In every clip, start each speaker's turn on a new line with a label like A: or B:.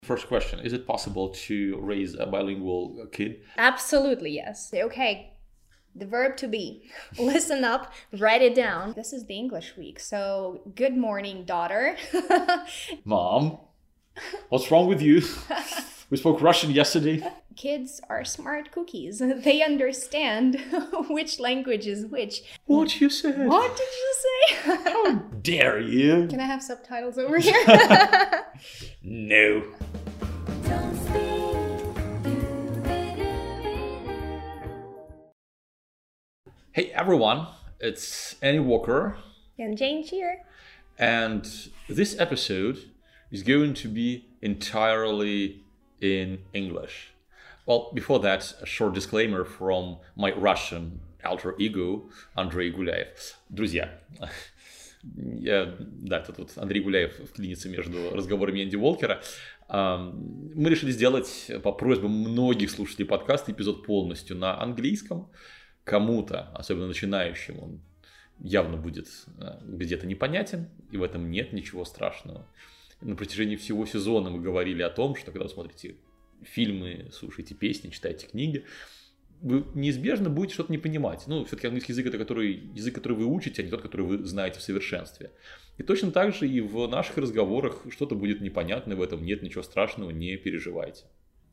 A: First question, is it possible to raise a bilingual kid?
B: Absolutely, yes. Okay, the verb to be. Listen up, write it down. This is the English week, so good morning, daughter.
A: Mom, what's wrong with you? We spoke Russian yesterday.
B: Kids are smart cookies. They understand which language is which.
A: What you said?
B: What did you say?
A: How dare you?
B: Can I have subtitles over here?
A: No. Hey everyone, it's Annie Walker.
B: And Jane here.
A: And this episode is going to be entirely in English. Well, before that, a short disclaimer from my Russian alter ego, Андрей Гуляев. Друзья, это тут Андрей Гуляев вклинится между разговорами Энди Уолкера. Мы решили сделать по просьбе многих слушателей подкаста эпизод полностью на английском. Кому-то, особенно начинающим, он явно будет где-то непонятен, и в этом нет ничего страшного. На протяжении всего сезона мы говорили о том, что когда вы смотрите фильмы, слушаете песни, читаете книги, вы неизбежно будете что-то не понимать. Ну, все-таки английский язык — это язык, который вы учите, а не тот, который вы знаете в совершенстве. И точно так же и в наших разговорах что-то будет непонятно, в этом нет ничего страшного, не переживайте.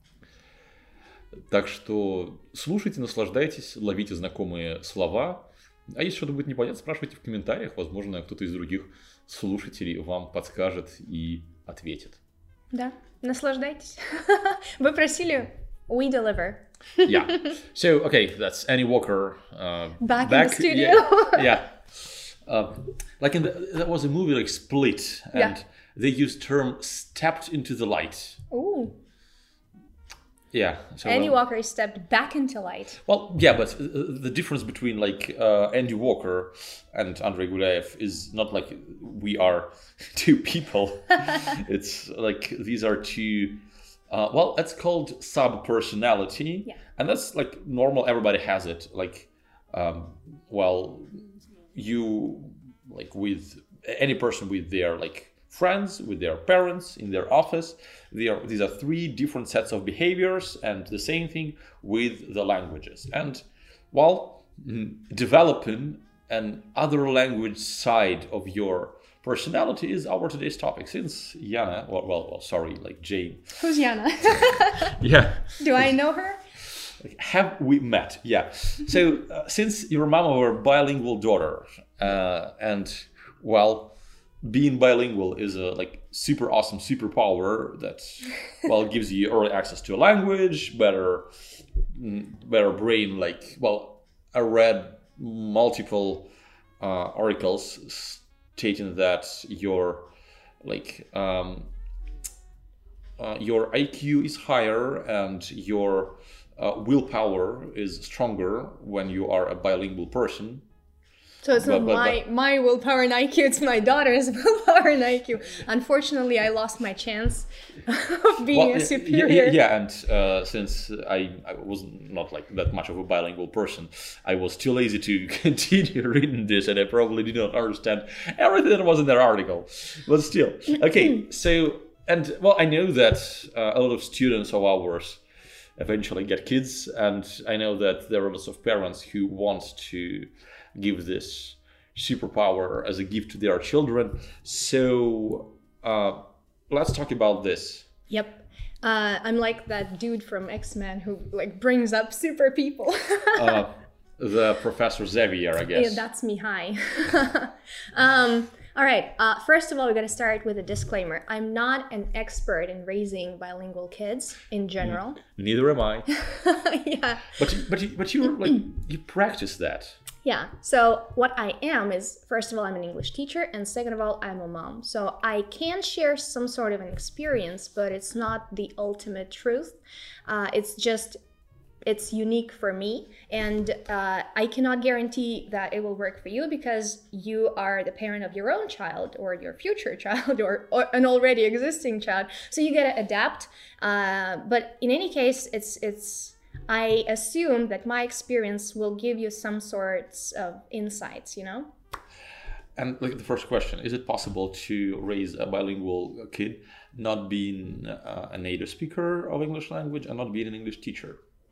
A: Так что слушайте, наслаждайтесь, ловите знакомые слова. А если что-то будет непонятно, спрашивайте в комментариях. Возможно, кто-то из других слушателей вам подскажет и ответит.
B: Да, наслаждайтесь. Вы просили, we deliver.
A: Yeah. So, okay, that's Annie Walker.
B: Back in the studio.
A: Yeah. Like there was a movie like Split, and they used term stepped into the light.
B: Ooh.
A: Yeah. So,
B: Andy Walker stepped back into light.
A: Well, yeah, but the difference between like Andy Walker and Andrei Gulayev is not like we are two people. It's like these are two. Well, it's called sub-personality, and that's like normal. Everybody has it. Like, well, you like with any person with their like friends, with their parents, in their office. These are three different sets of behaviors, and the same thing with the languages. And while developing an other language side of your personality is our today's topic. Since Yana, like Jane.
B: Who's Yana?
A: Yeah.
B: Do I know her?
A: Have we met? Yeah. So since you're mom of a bilingual daughter, and well, being bilingual is a like super awesome superpower that gives you early access to a language, better brain. Like, well, I read multiple articles stating that your IQ is higher and your willpower is stronger when you are a bilingual person.
B: So it's not my willpower and IQ, it's my daughter's willpower and IQ. Unfortunately, I lost my chance of being a superior.
A: Yeah, and since I was not like that much of a bilingual person, I was too lazy to continue reading this, and I probably did not understand everything that was in that article. But still, okay, so, and well, I know that a lot of students of ours eventually get kids, and I know that there are lots of parents who want to give this superpower as a gift to their children. So let's talk about this.
B: Yep. I'm like that dude from X-Men who like brings up super people.
A: The Professor Xavier, I guess.
B: Yeah, that's me. Hi. All right. First of all, we got to start with a disclaimer. I'm not an expert in raising bilingual kids in general.
A: Neither am I.
B: Yeah.
A: But you practice that.
B: Yeah. So what I am is, first of all, I'm an English teacher, and second of all, I'm a mom. So I can share some sort of an experience, but it's not the ultimate truth. It's unique for me, and I cannot guarantee that it will work for you because you are the parent of your own child or your future child or an already existing child. So you gotta adapt. But in any case, I assume that my experience will give you some sorts of insights, you know?
A: And like the first question, is it possible to raise a bilingual kid not being a native speaker of English language and not being an English teacher?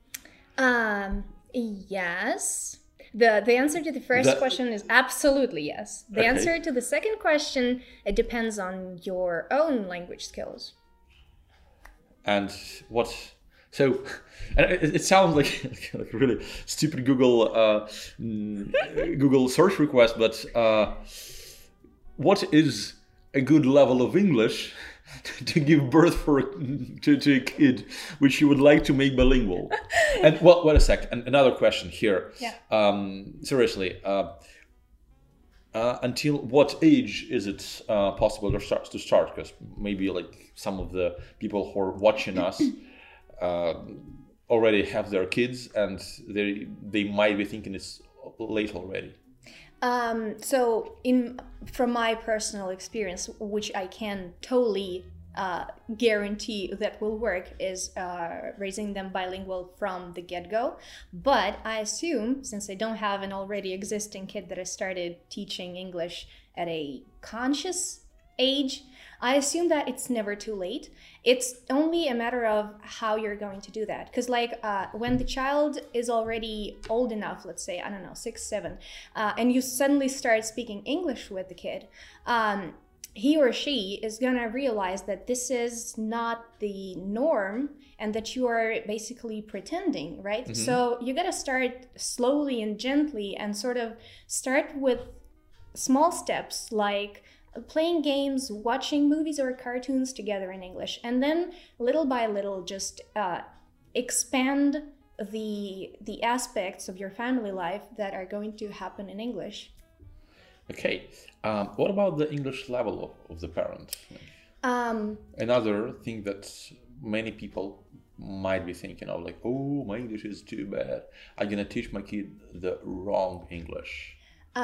B: Yes. The answer to the first question is absolutely yes. The
A: Okay.
B: answer to the second question, it depends on your own language skills.
A: And what? So, and it sounds like a really stupid Google search request, but what is a good level of English to give birth to a kid which you would like to make bilingual? And well, wait a sec. And another question here.
B: Yeah.
A: Seriously. Until what age is it possible to start? Because maybe like some of the people who are watching us already have their kids, and they might be thinking it's late already.
B: So from my personal experience, which I can totally guarantee that will work, is raising them bilingual from the get-go. But I assume, since I don't have an already existing kid that I started teaching English at a conscious age, I assume that it's never too late. It's only a matter of how you're going to do that. Because like when the child is already old enough, let's say, I don't know, 6, 7, and you suddenly start speaking English with the kid, he or she is gonna realize that this is not the norm and that you are basically pretending, right? Mm-hmm. So you gotta start slowly and gently and sort of start with small steps like playing games, watching movies or cartoons together in English, and then little by little just expand the aspects of your family life that are going to happen in English.
A: Okay. What about the English level of the parent? Another thing that many people might be thinking of, like, oh, my English is too bad. I'm gonna teach my kid the wrong English.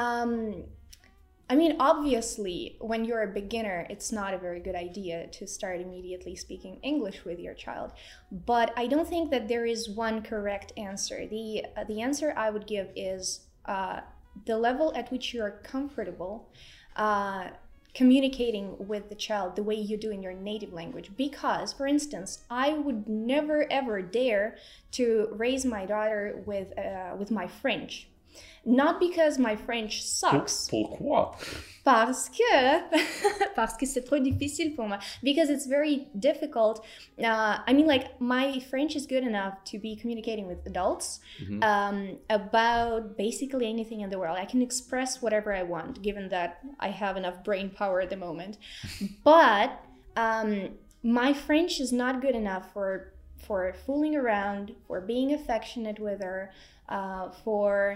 B: I mean, obviously, when you're a beginner, it's not a very good idea to start immediately speaking English with your child. But I don't think that there is one correct answer. The answer I would give is the level at which you're comfortable communicating with the child the way you do in your native language. Because, for instance, I would never ever dare to raise my daughter with my French. Not because my French sucks.
A: Pourquoi?
B: Parce que c'est trop difficile pour moi. Because it's very difficult. I mean, like, my French is good enough to be communicating with adults about basically anything in the world. I can express whatever I want, given that I have enough brain power at the moment. But my French is not good enough for fooling around, for being affectionate with her, for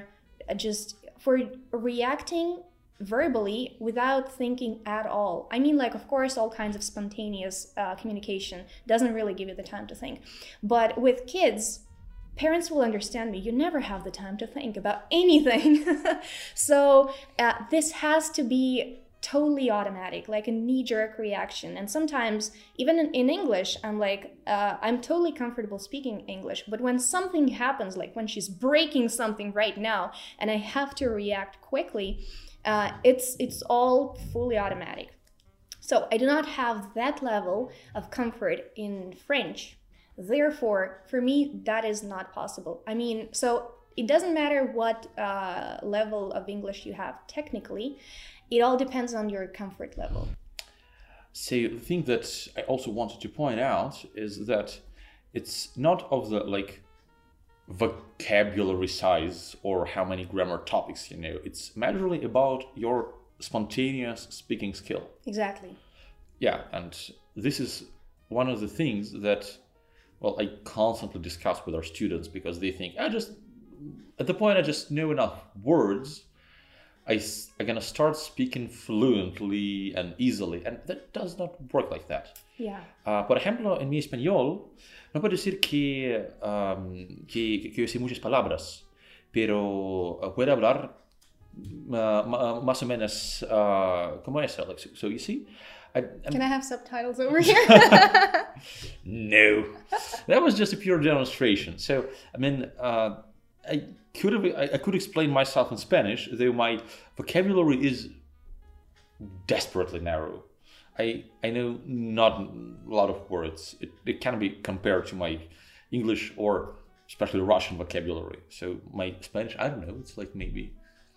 B: reacting verbally without thinking at all. I mean, like, of course, all kinds of spontaneous communication doesn't really give you the time to think. But with kids, parents will understand me. You never have the time to think about anything. So this has to be totally automatic, like a knee-jerk reaction. And sometimes, even in English, I'm like, I'm totally comfortable speaking English, but when something happens, like when she's breaking something right now, and I have to react quickly, it's all fully automatic. So I do not have that level of comfort in French. Therefore, for me, that is not possible. I mean, so it doesn't matter what level of English you have technically. It all depends on your comfort level.
A: So the thing that I also wanted to point out is that it's not of the like vocabulary size or how many grammar topics you know. It's majorly about your spontaneous speaking skill. Exactly. Yeah, and this is one of the things that, well, I constantly discuss with our students, because they think, at the point I just know enough words, I'm gonna start speaking fluently and easily, and that does not work like that.
B: Yeah.
A: Por ejemplo, en mi español, no puedo decir que yo sé muchas palabras, pero puedo hablar más o menos como eso. Like, so you see?
B: Can I have subtitles over here?
A: No. That was just a pure demonstration. So, I mean, I could explain myself in Spanish, though my vocabulary is desperately narrow. I know not a lot of words. It can be compared to my English or especially Russian vocabulary. So my Spanish, I don't know, it's like maybe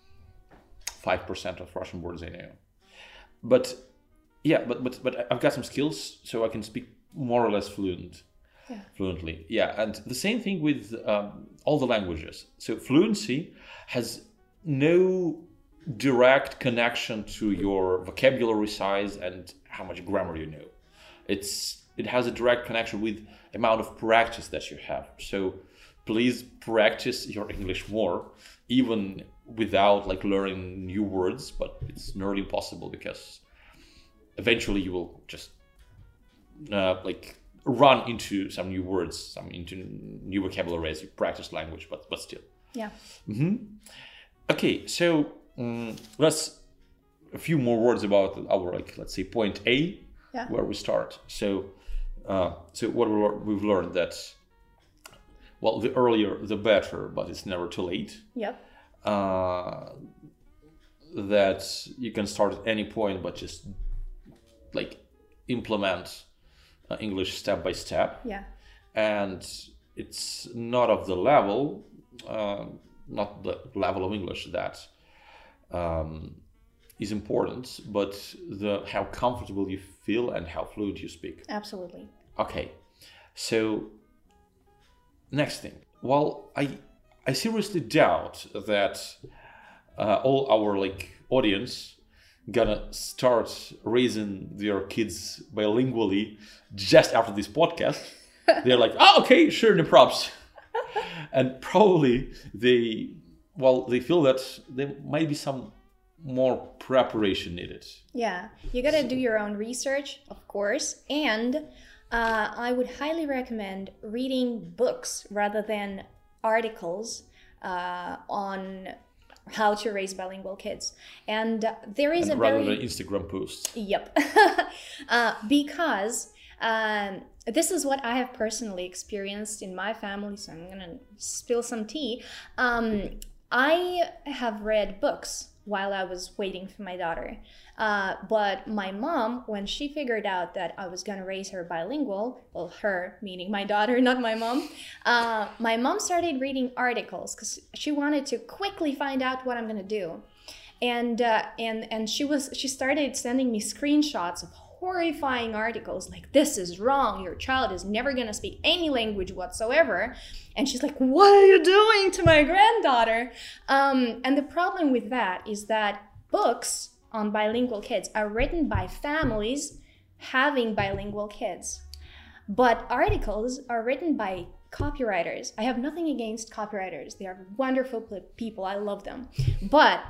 A: 5% of Russian words I know. But yeah, but I've got some skills, so I can speak more or less fluently. Yeah, and the same thing with all the languages. So fluency has no direct connection to your vocabulary size and how much grammar you know. It has a direct connection with amount of practice that you have. So please practice your English more, even without like learning new words, but it's nearly impossible because eventually you will just like run into some new words, into new vocabulary as you practice language, but still.
B: Yeah.
A: Okay, so let's a few more words about our, like, let's say point A, where we start. So what we've learned that, well, the earlier the better, but it's never too late.
B: Yep.
A: That you can start at any point, but just like implement English step by step.
B: Yeah.
A: And it's not of the level, not the level of English that is important, but how comfortable you feel and how fluent you speak.
B: Absolutely.
A: Okay, so next thing. Well, I seriously doubt that all our like audience gonna start raising their kids bilingually just after this podcast. They're like, oh, okay, sure, no props. And probably they feel that there might be some more preparation needed.
B: Yeah, you gotta do your own research, of course, and I would highly recommend reading books rather than articles on how to raise bilingual kids. And there is
A: rather than Instagram posts.
B: Yep. Because this is what I have personally experienced in my family, so I'm gonna spill some tea. I have read books while I was waiting for my daughter. But my mom, when she figured out that I was gonna raise her bilingual, well, her meaning my daughter, not my mom started reading articles because she wanted to quickly find out what I'm gonna do. And she started sending me screenshots of horrifying articles like, this is wrong, your child is never gonna speak any language whatsoever. And she's like, what are you doing to my granddaughter? And the problem with that is that books on bilingual kids are written by families having bilingual kids. But articles are written by copywriters. I have nothing against copywriters. They are wonderful people. I love them. But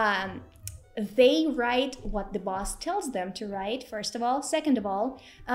B: they write what the boss tells them to write, first of all. Second of all,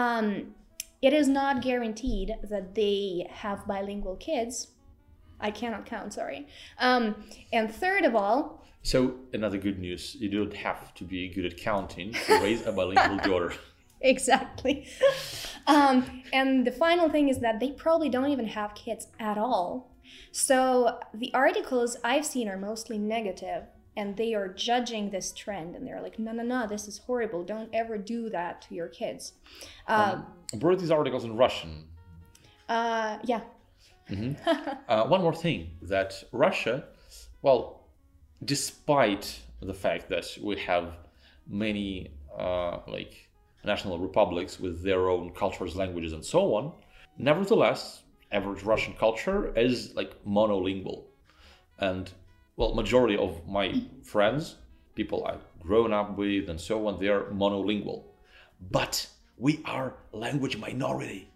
B: it is not guaranteed that they have bilingual kids. I cannot count, sorry. And third of all...
A: So, another good news, you don't have to be good at counting to raise a bilingual daughter.
B: Exactly. And the final thing is that they probably don't even have kids at all. So the articles I've seen are mostly negative, and they are judging this trend, and they're like, no, this is horrible. Don't ever do that to your kids.
A: Were these articles in Russian?
B: Yeah.
A: Mm-hmm. One more thing, that Russia, well, despite the fact that we have many like national republics with their own cultures, languages, and so on, nevertheless, average Russian culture is like monolingual. And well, majority of my friends, people I've grown up with and so on, they are monolingual. But we are language minority.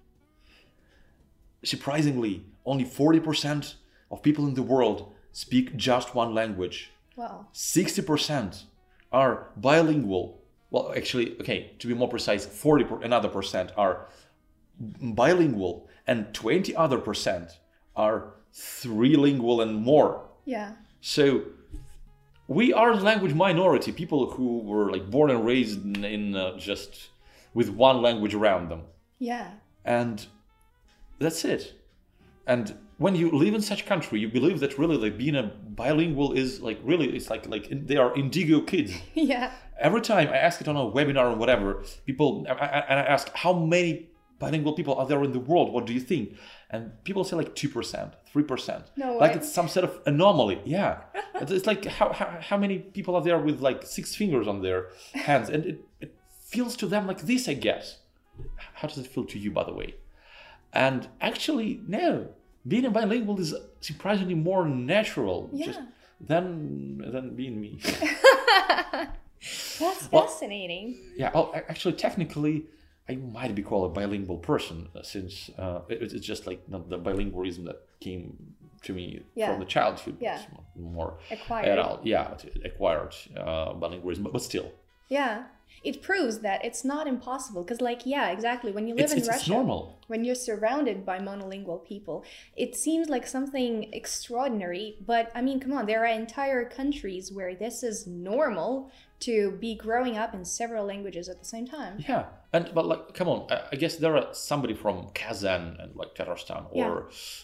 A: Surprisingly, only 40% of people in the world speak just one language.
B: Wow.
A: 60% are bilingual. Well, actually, okay, to be more precise, another percent are bilingual, and 20 other percent are trilingual and more.
B: Yeah.
A: So we are the language minority, people who were like born and raised in just with one language around them.
B: Yeah.
A: And that's it. And when you live in such country, you believe that really like being a bilingual is like really it's like they are indigo kids.
B: Yeah.
A: Every time I ask it on a webinar or whatever, people and I ask how many bilingual people are there in the world? What do you think? And people say like 2%, 3%.
B: No way.
A: Like it's some sort of anomaly. Yeah, it's like how many people are there with like 6 fingers on their hands, and it feels to them like this, I guess. How does it feel to you, by the way? And actually, no. Being a bilingual is surprisingly more natural than being me.
B: That's fascinating.
A: Yeah, well, actually, technically, I might be called a bilingual person since it's just like not the bilingualism that came to me from the childhood.
B: Yeah.
A: It's more
B: Acquired.
A: adult. Yeah, acquired bilingualism, but still.
B: Yeah. It proves that it's not impossible because, like, yeah, exactly. When you live in Russia,
A: it's normal.
B: When you're surrounded by monolingual people, it seems like something extraordinary. But I mean, come on, there are entire countries where this is normal to be growing up in several languages at the same time.
A: Yeah, but like, come on, I guess there are somebody from Kazan and like Tatarstan or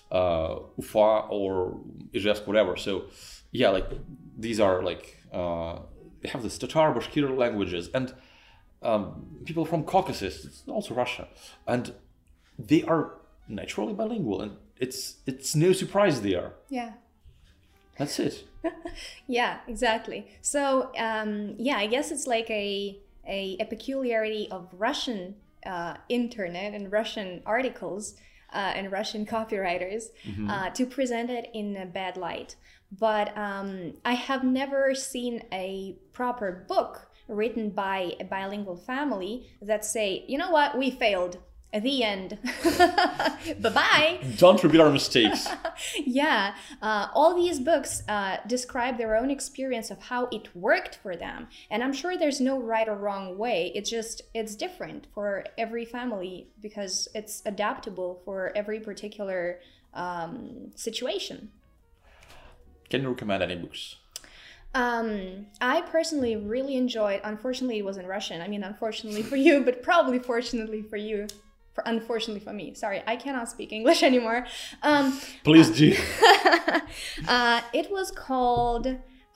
A: Ufa or Ijevsk, whatever. So yeah, like these are like they have the Tatar, Bashkir languages, and people from Caucasus, it's also Russia, and they are naturally bilingual, and it's no surprise they are.
B: Yeah.
A: That's it.
B: Yeah, exactly. So yeah, I guess it's like a peculiarity of Russian internet and Russian articles and Russian copywriters to present it in a bad light. But I have never seen a proper book written by a bilingual family that say, you know what, we failed. At the end. Bye-bye.
A: Don't repeat our mistakes.
B: Yeah. All these books describe their own experience of how it worked for them. And I'm sure there's no right or wrong way. It's different for every family because it's adaptable for every particular situation.
A: Can you recommend any books?
B: I personally really enjoyed, unfortunately it was in Russian. I mean, unfortunately for you, but probably fortunately for you. Unfortunately for me. Sorry, I cannot speak English anymore.
A: Please do.
B: It was called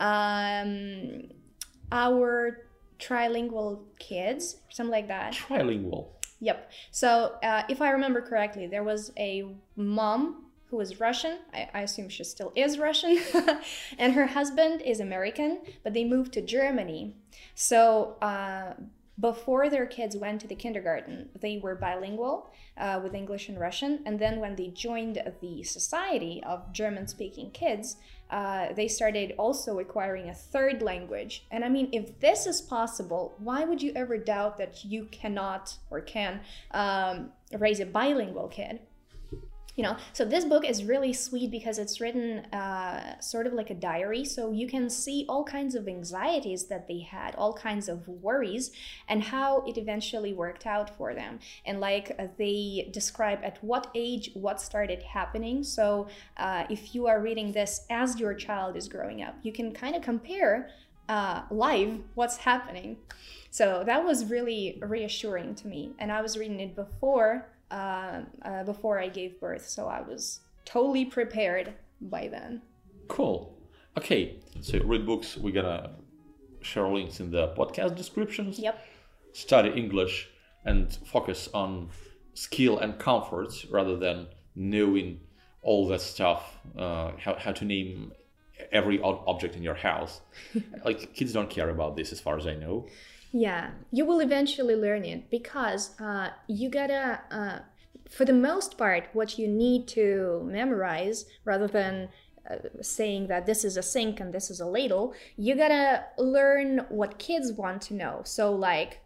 B: Our Trilingual Kids, something like that.
A: Trilingual.
B: Yep. So if I remember correctly, there was a mom who was Russian. I assume she still is Russian. And her husband is American, but they moved to Germany. So before their kids went to the kindergarten, they were bilingual with English and Russian. And then when they joined the Society of German-speaking kids, they started also acquiring a third language. And I mean, if this is possible, why would you ever doubt that you cannot or can raise a bilingual kid? You know, so this book is really sweet because it's written sort of like a diary. So you can see all kinds of anxieties that they had, all kinds of worries, and how it eventually worked out for them. And like they describe at what age what started happening. So if you are reading this as your child is growing up, you can kind of compare live what's happening. So that was really reassuring to me. And I was reading it before I gave birth, so I was totally prepared by then.
A: Cool. Okay, so read books. We're gonna share links in the podcast descriptions.
B: Yep.
A: Study English and focus on skill and comfort rather than knowing all that stuff, how to name every object in your house. Like kids don't care about this as far as I know.
B: Yeah, you will eventually learn it because you gotta, for the most part, what you need to memorize rather than saying that this is a sink and this is a ladle, you gotta learn what kids want to know. So like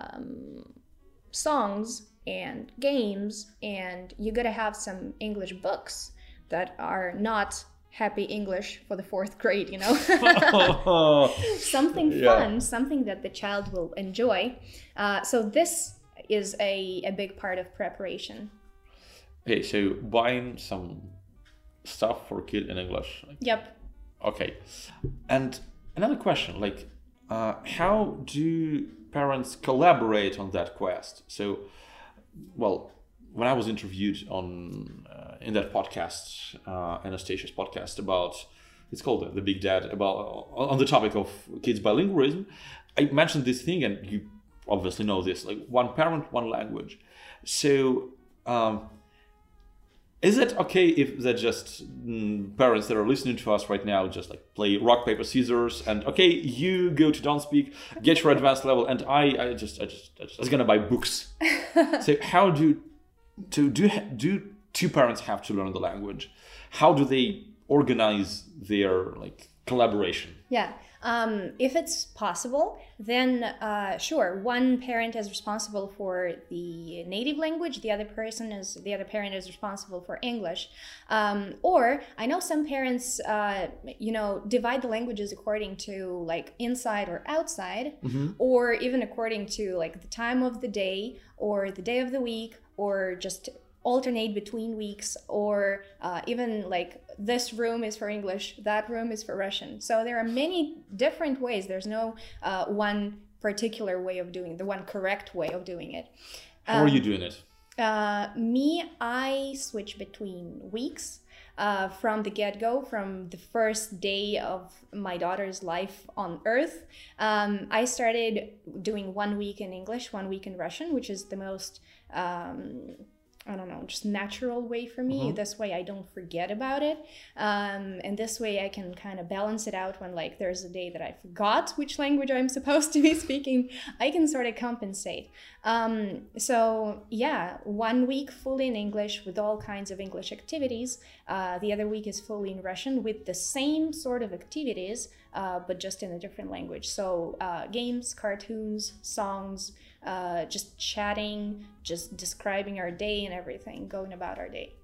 B: songs and games, and you gotta have some English books that are not happy English for the 4th grade, you know? Something fun, something that the child will enjoy. So this is a big part of preparation.
A: Okay, so buying some stuff for kid in English.
B: Yep.
A: Okay. And another question, like, how do parents collaborate on that quest? So, well, when I was interviewed in that podcast, Anastasia's podcast about, it's called The Big Dad, about on the topic of kids bilingualism. I mentioned this thing, and you obviously know this, like one parent, one language. So is it okay if that just parents that are listening to us right now just like play rock, paper, scissors, and okay, you go to Don't Speak, get your advanced level, and I just gonna buy books. So how do two parents have to learn the language? How do they organize their like collaboration?
B: Yeah. If it's possible, then sure, one parent is responsible for the native language, the other parent is responsible for English. Or I know some parents, divide the languages according to like inside or outside, or even according to like the time of the day or the day of the week, or just alternate between weeks, or even like this room is for English, that room is for Russian. So there are many different ways. There's no one particular way of doing it, the one correct way of doing it.
A: How are you doing it?
B: I switch between weeks. From the get-go, from the first day of my daughter's life on Earth, I started doing 1 week in English, 1 week in Russian, which is the most just natural way for me. This way I don't forget about it. And this way I can kind of balance it out when like there's a day that I forgot which language I'm supposed to be speaking. I can sort of compensate. So yeah, 1 week fully in English with all kinds of English activities. The other week is fully in Russian with the same sort of activities, but just in a different language. So games, cartoons, songs, just chatting, just describing our day and everything, going about our day.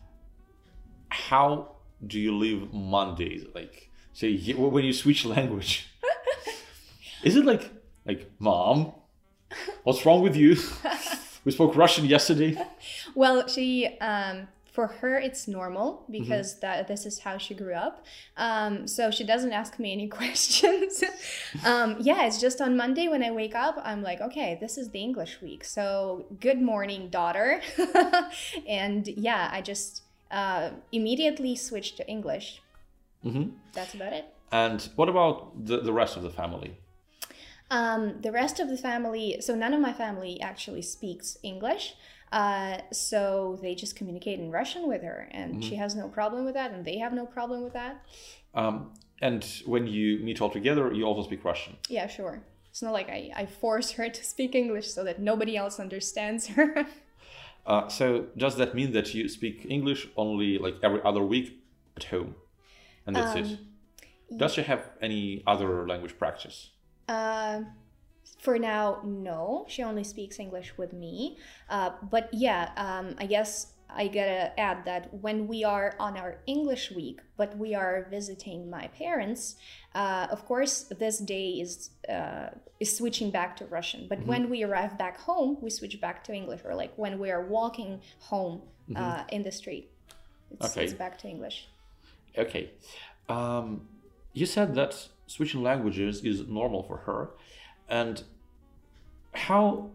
A: How do you live Mondays? Like, say when you switch language, is it like Mom, what's wrong with you? We spoke Russian yesterday.
B: Well, she for her it's normal because this is how she grew up. So she doesn't ask me any questions. It's just on Monday when I wake up, I'm like, okay, this is the English week. So good morning, daughter. And yeah, I just immediately switched to English. That's about it.
A: And what about the rest of the family?
B: The rest of the family, so none of my family actually speaks English. So they just communicate in Russian with her, and she has no problem with that, and they have no problem with that.
A: And when you meet all together, you also speak Russian?
B: Yeah, sure. It's not like I force her to speak English so that nobody else understands her.
A: So does that mean that you speak English only like every other week at home? And that's it? Does she have any other language practice?
B: For now, no. She only speaks English with me. But yeah, I guess I gotta add that when we are on our English week, but we are visiting my parents, of course, this day is switching back to Russian. But when we arrive back home, we switch back to English. Or like when we are walking home in the street, it's back to English.
A: Okay. You said that switching languages is normal for her. And how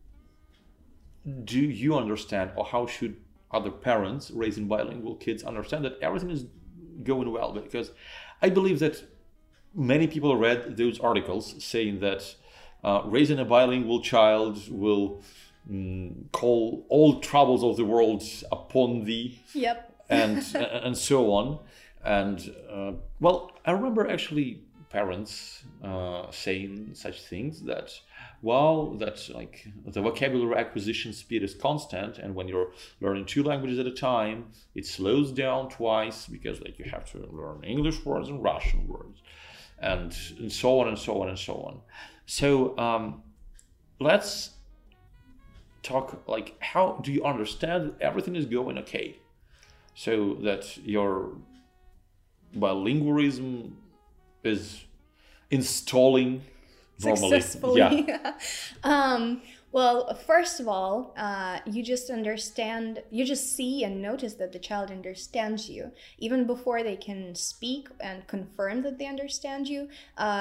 A: do you understand, or how should other parents raising bilingual kids understand that everything is going well? Because I believe that many people read those articles saying that raising a bilingual child will call all troubles of the world upon thee.
B: Yep.
A: and so on. And I remember actually parents saying such things that, like the vocabulary acquisition speed is constant, and when you're learning 2 languages at a time, it slows down twice because like you have to learn English words and Russian words, and so on and so on and so on. So let's talk like, how do you understand that everything is going okay, so that your bilingualism is installing normally?
B: Successfully.
A: Yeah.
B: Well, first of all, you just see and notice that the child understands you even before they can speak and confirm that they understand you.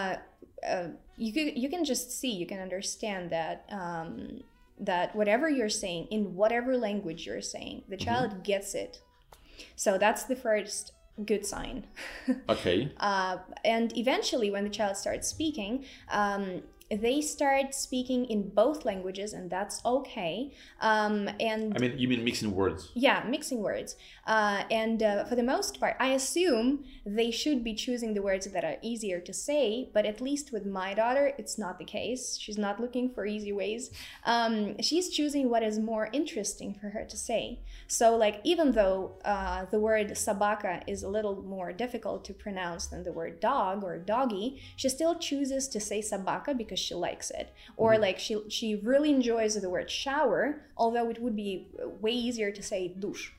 B: You can just see, you can understand that that whatever you're saying, in whatever language you're saying, the child gets it So that's the first good sign.
A: Okay.
B: And eventually, when the child starts speaking, they start speaking in both languages, and that's okay. And
A: I mean, you mean mixing words?
B: yeah, mixing words. And for the most part, I assume they should be choosing the words that are easier to say, but at least with my daughter, it's not the case. She's not looking for easy ways. She's choosing what is more interesting for her to say. So, like, even though the word sabaka is a little more difficult to pronounce than the word dog or doggy, she still chooses to say sabaka because she likes it. Or like she really enjoys the word shower, although it would be way easier to say douche.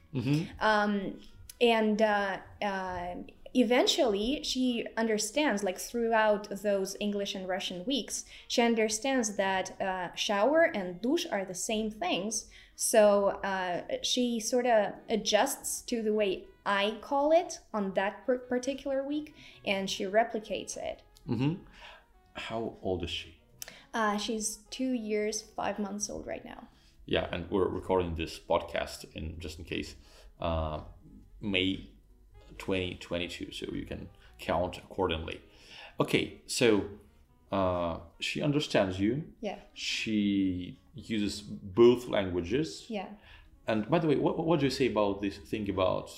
B: Eventually she understands, like throughout those English and Russian weeks, she understands that shower and douche are the same things. So she sort of adjusts to the way I call it on that particular week, and she replicates it.
A: How old is she?
B: She's 2 years, 5 months old right now.
A: Yeah, and we're recording this podcast just in case May 2022, so you can count accordingly. Okay, so she understands you.
B: Yeah.
A: She uses both languages.
B: Yeah.
A: And by the way, what do you say about this thing about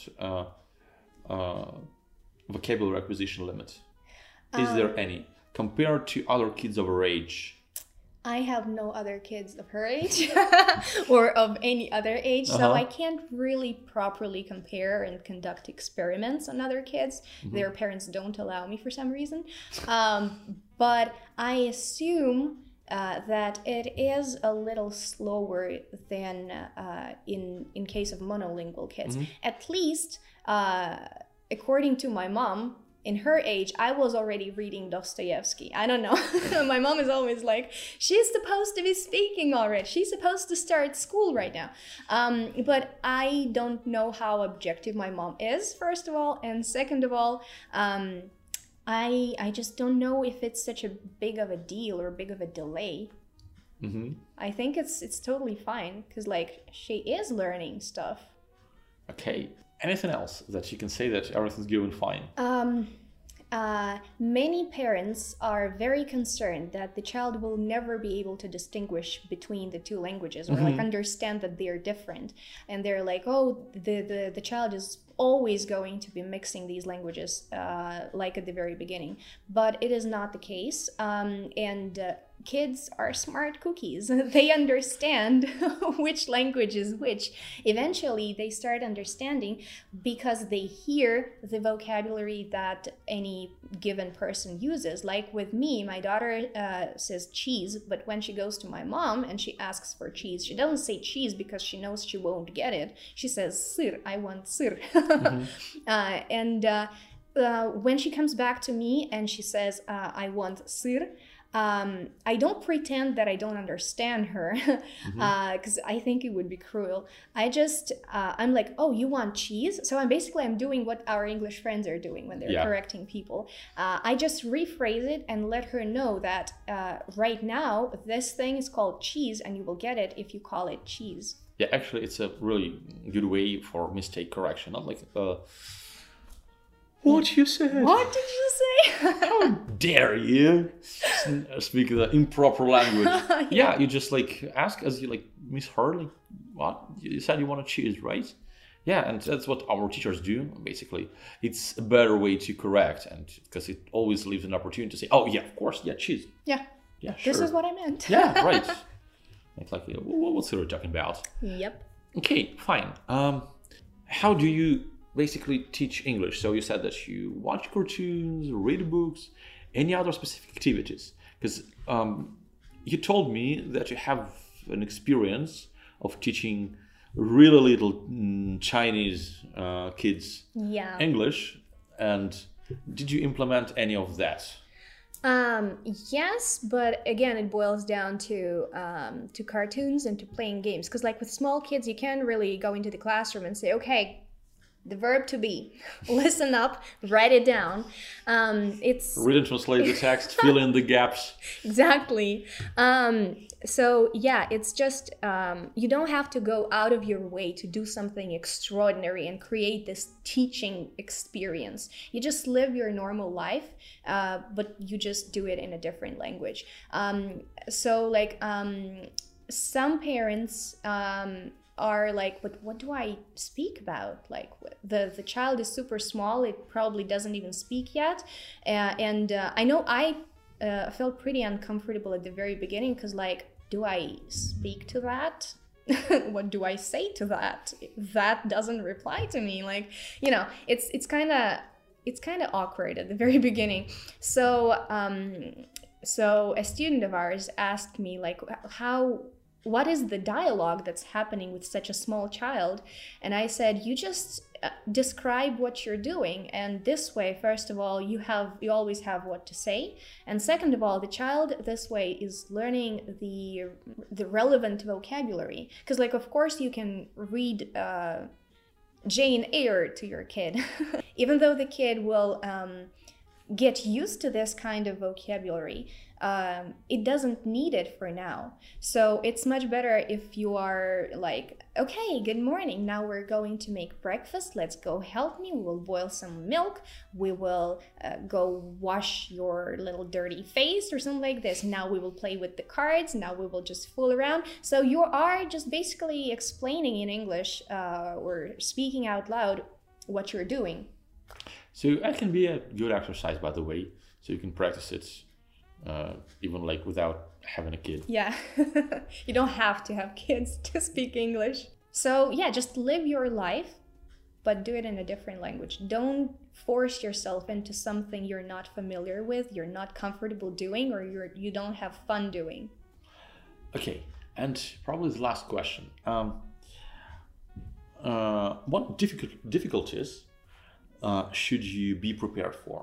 A: vocabulary acquisition limit? Is there any compared to other kids of her age?
B: I have no other kids of her age or of any other age, so I can't really properly compare and conduct experiments on other kids. Their parents don't allow me for some reason. But I assume that it is a little slower than in case of monolingual kids. At least, according to my mom, in her age, I was already reading Dostoevsky. I don't know. My mom is always like, she's supposed to be speaking already. She's supposed to start school right now. But I don't know how objective my mom is, first of all. And second of all, I just don't know if it's such a big of a deal or big of a delay. I think it's totally fine because, like, she is learning stuff.
A: Okay. Anything else that you can say that everything's going fine?
B: Many parents are very concerned that the child will never be able to distinguish between the two languages or like understand that they're different. And they're like, oh, the child is always going to be mixing these languages like at the very beginning. But it is not the case. Kids are smart cookies. They understand which language is which. Eventually, they start understanding because they hear the vocabulary that any given person uses. Like with me, my daughter says cheese, but when she goes to my mom and she asks for cheese, she doesn't say cheese because she knows she won't get it. She says sir, I want sir. When she comes back to me and she says, I want sir, I don't pretend that I don't understand her because I think it would be cruel. I'm like, oh, you want cheese? So I'm doing what our English friends are doing when they're correcting people. I just rephrase it and let her know that right now this thing is called cheese and you will get it if you call it cheese.
A: Yeah, actually, it's a really good way for mistake correction. Not like, what you said?
B: What did you say?
A: How dare you speak the improper language? Yeah, you just like ask as you like misheard. Like, what you said you want to choose, right? Yeah, and that's what our teachers do. Basically, it's a better way to correct, and because it always leaves an opportunity to say, "Oh yeah, of course, yeah, choose."
B: Yeah.
A: Yeah, sure.
B: This is what I meant.
A: Yeah, right. Like, what's Sarah talking about?
B: Yep.
A: Okay, fine. How do you basically teach English? So you said that you watch cartoons, read books, any other specific activities? Because you told me that you have an experience of teaching really little Chinese kids English, and did you implement any of that?
B: Yes, but again, it boils down to cartoons and to playing games. Because like with small kids, you can't really go into the classroom and say, okay, The verb to be. Listen up, write it down. It's
A: Read and translate the text, fill in the gaps.
B: exactly. So yeah, it's just you don't have to go out of your way to do something extraordinary and create this teaching experience. You just live your normal life, but you just do it in a different language. So like some parents are like, but what do I speak about? Like the child is super small, it probably doesn't even speak yet, and I know I felt pretty uncomfortable at the very beginning because like, do I speak to that? What do I say to that? That doesn't reply to me. Like, you know, it's kind of awkward at the very beginning. So so a student of ours asked me like, what is the dialogue that's happening with such a small child? And I said, you just describe what you're doing, and this way, first of all, you always have what to say, and second of all, the child this way is learning the relevant vocabulary, because like of course you can read Jane Eyre to your kid even though the kid will get used to this kind of vocabulary, it doesn't need it for now. So it's much better if you are like, okay, good morning, now we're going to make breakfast, let's go help me, we will boil some milk, we will go wash your little dirty face or something like this, now we will play with the cards, now we will just fool around. So you are just basically explaining in English or speaking out loud what you're doing.
A: So that can be a good exercise, by the way. So you can practice it even like without having a kid.
B: Yeah, you don't have to have kids to speak English. So yeah, just live your life, but do it in a different language. Don't force yourself into something you're not familiar with, you're not comfortable doing, or you don't have fun doing.
A: Okay, and probably the last question. What difficulties should you be prepared for?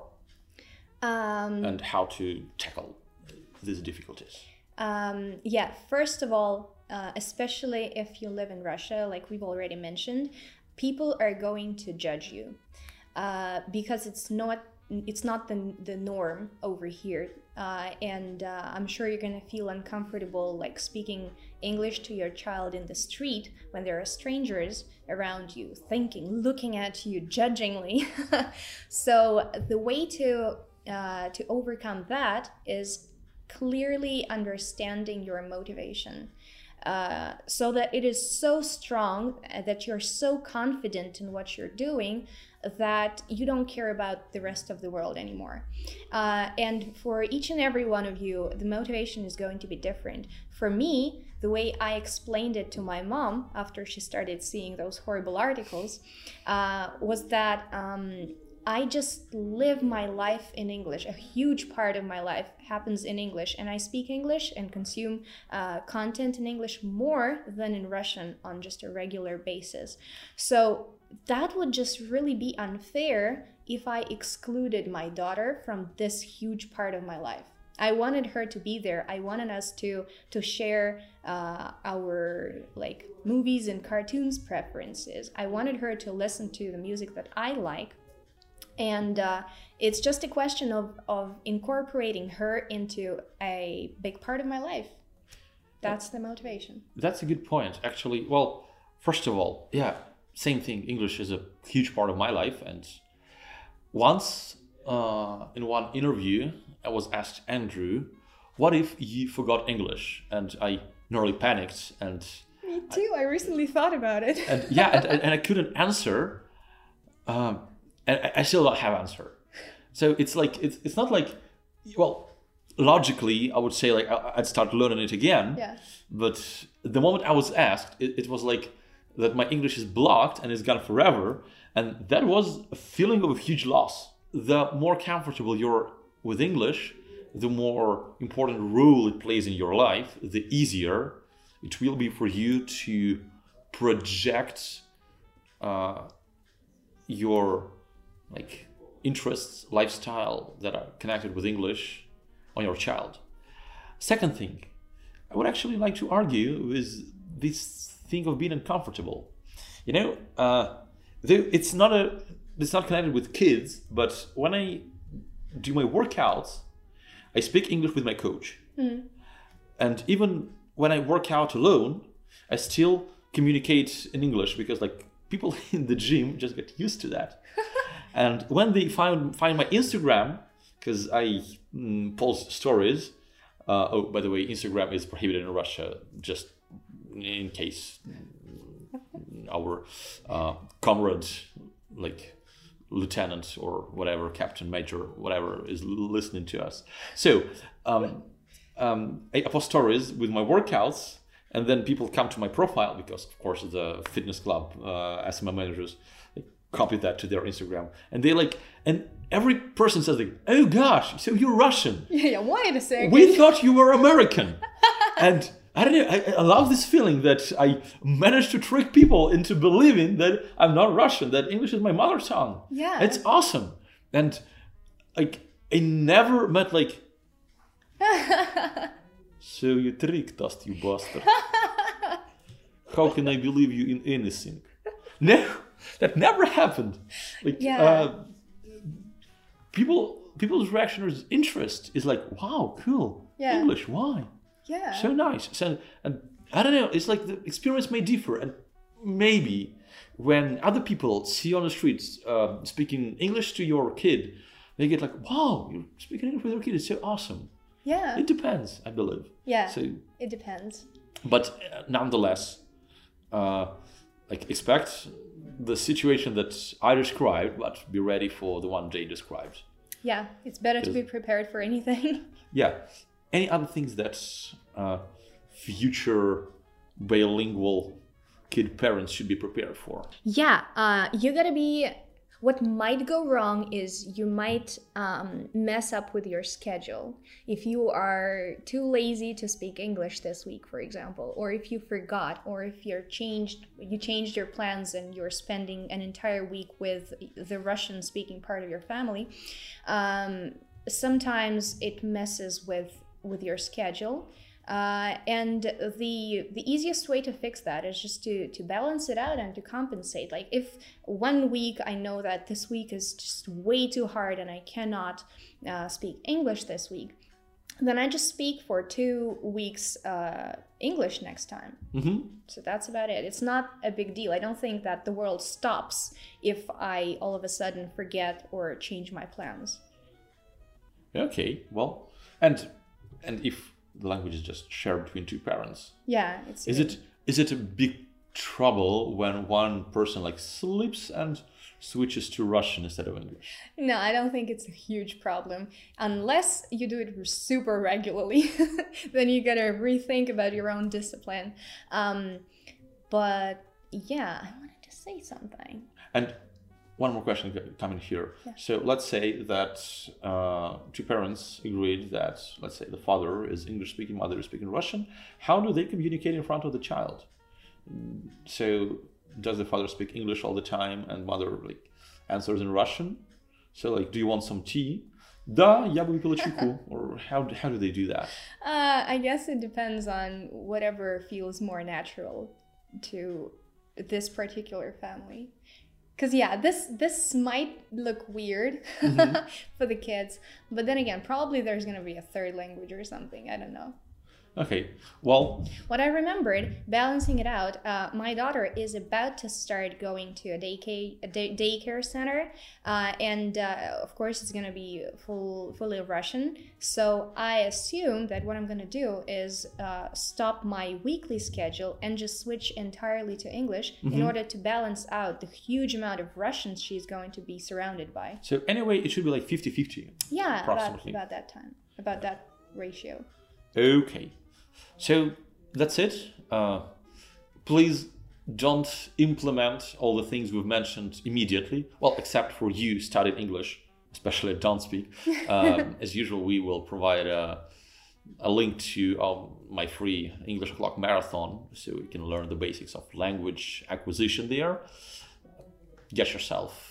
A: And how to tackle these difficulties?
B: Yeah, first of all, especially if you live in Russia, like we've already mentioned, people are going to judge you because it's not the norm over here, and I'm sure you're gonna feel uncomfortable like speaking English to your child in the street when there are strangers around you, looking at you judgingly. So the way to overcome that is clearly understanding your motivation, so that it is so strong that you're so confident in what you're doing that you don't care about the rest of the world anymore. And for each and every one of you, the motivation is going to be different. For me, the way I explained it to my mom after she started seeing those horrible articles was that I just live my life in English. A huge part of my life happens in English, and I speak English and consume content in English more than in Russian on just a regular basis. So that would just really be unfair if I excluded my daughter from this huge part of my life. I wanted her to be there. I wanted us to share our like movies and cartoons preferences. I wanted her to listen to the music that I like. And it's just a question of incorporating her into a big part of my life. That's the motivation.
A: That's a good point, actually. Well, first of all, yeah, same thing. English is a huge part of my life. And once in one interview, I was asked, Andrew, what if you forgot English? And I nearly panicked. And
B: me too. I recently thought about it.
A: And yeah, and I couldn't answer. And I still don't have answer. So it's like it's not like, well, logically I would say like I'd start learning it again.
B: Yeah.
A: But the moment I was asked, it was like that my English is blocked and it's gone forever, and that was a feeling of a huge loss. The more comfortable you're with English, the more important role it plays in your life, the easier it will be for you to project your like interests, lifestyle that are connected with English on your child. Second thing, I would actually like to argue is this thing of being uncomfortable. You know, it's not connected with kids, but when I do my workouts, I speak English with my coach. And even when I work out alone, I still communicate in English because like people in the gym just get used to that. And when they find my Instagram, because I post stories. Oh, by the way, Instagram is prohibited in Russia, just in case our comrade, like lieutenant or whatever, captain, major, whatever, is listening to us. So I post stories with my workouts, and then people come to my profile because, of course, the fitness club, SMA managers, they copy that to their Instagram, and they like, and every person says like, "Oh gosh, so you're Russian?
B: Yeah, wait a second.
A: We thought you were American." And I don't know, I love this feeling that I managed to trick people into believing that I'm not Russian, that English is my mother tongue.
B: Yeah.
A: It's awesome. And like, I never met like, "So you tricked us, you bastard. How can I believe you in anything?" No, that never happened. Like, people's reaction or interest is like, "Wow, cool.
B: Yeah.
A: English, why?
B: Yeah.
A: So nice." So, and I don't know, it's like the experience may differ, and maybe when other people see you on the streets speaking English to your kid, they get like, "Wow, you're speaking English with your kid, it's so awesome."
B: Yeah.
A: It depends, I believe.
B: Yeah.
A: So,
B: it depends.
A: but nonetheless, like, expect the situation that I described, but be ready for the one Jay described.
B: Yeah, it's better to be prepared for anything.
A: Yeah. Any other things that future bilingual kid parents should be prepared for?
B: Yeah, you gotta be. What might go wrong is you might mess up with your schedule. If you are too lazy to speak English this week, for example, or if you forgot, or if you changed your plans and you're spending an entire week with the Russian-speaking part of your family, sometimes it messes with your schedule. And the easiest way to fix that is just to balance it out and to compensate. Like if 1 week I know that this week is just way too hard and I cannot speak English this week, then I just speak for 2 weeks English next time. So that's about it. It's not a big deal. I don't think that the world stops if I all of a sudden forget or change my plans.
A: Okay, well, and if the language is just shared between two parents.
B: Yeah,
A: is it a big trouble when one person like slips and switches to Russian instead of English?
B: No, I don't think it's a huge problem unless you do it super regularly. Then you gotta rethink about your own discipline. But yeah, I wanted to say something.
A: And one more question coming here.
B: Yeah.
A: So let's say that two parents agreed that, let's say, the father is English speaking, mother is speaking Russian. How do they communicate in front of the child? So does the father speak English all the time and mother like answers in Russian? So like, do you want some tea? Da, я бы выпила чайку. Or how do they do that?
B: I guess it depends on whatever feels more natural to this particular family. Because yeah, this might look weird for the kids, but then again, probably there's going to be a third language or something. I don't know.
A: Okay, well...
B: What I remembered, balancing it out, my daughter is about to start going to a daycare center, and of course it's going to be fully Russian. So I assume that what I'm going to do is stop my weekly schedule and just switch entirely to English in order to balance out the huge amount of Russians she's going to be surrounded by.
A: So anyway, it should be like 50-50.
B: Yeah,
A: approximately.
B: about that time, about that ratio.
A: Okay. So that's it. Please don't implement all the things we've mentioned immediately. Well, except for you studied English, especially Don't Speak. As usual, we will provide a link to my free English O'Clock marathon, so you can learn the basics of language acquisition there. Get yourself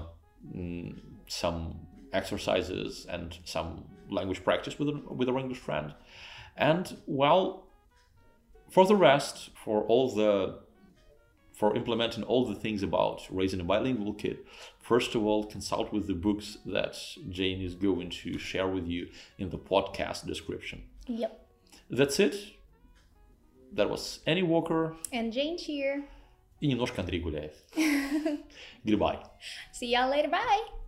A: some exercises and some language practice with an English friend. And well, for the rest, for all the for implementing all the things about raising a bilingual kid, first of all, consult with the books that Jane is going to share with you in the podcast description.
B: Yep.
A: That's it. That was Annie Walker.
B: And Jane here.
A: И немножко Андрей Гуляев. Goodbye.
B: See y'all later. Bye.